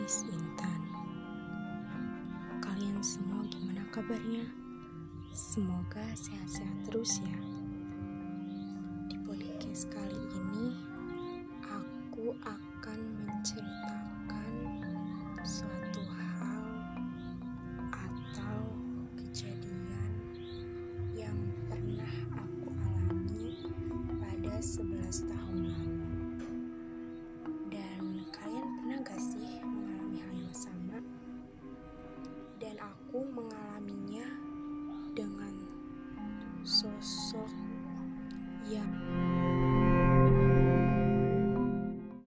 Podcast Intan. Kalian semua gimana kabarnya? Semoga sehat-sehat terus ya. Di podcast kali ini aku akan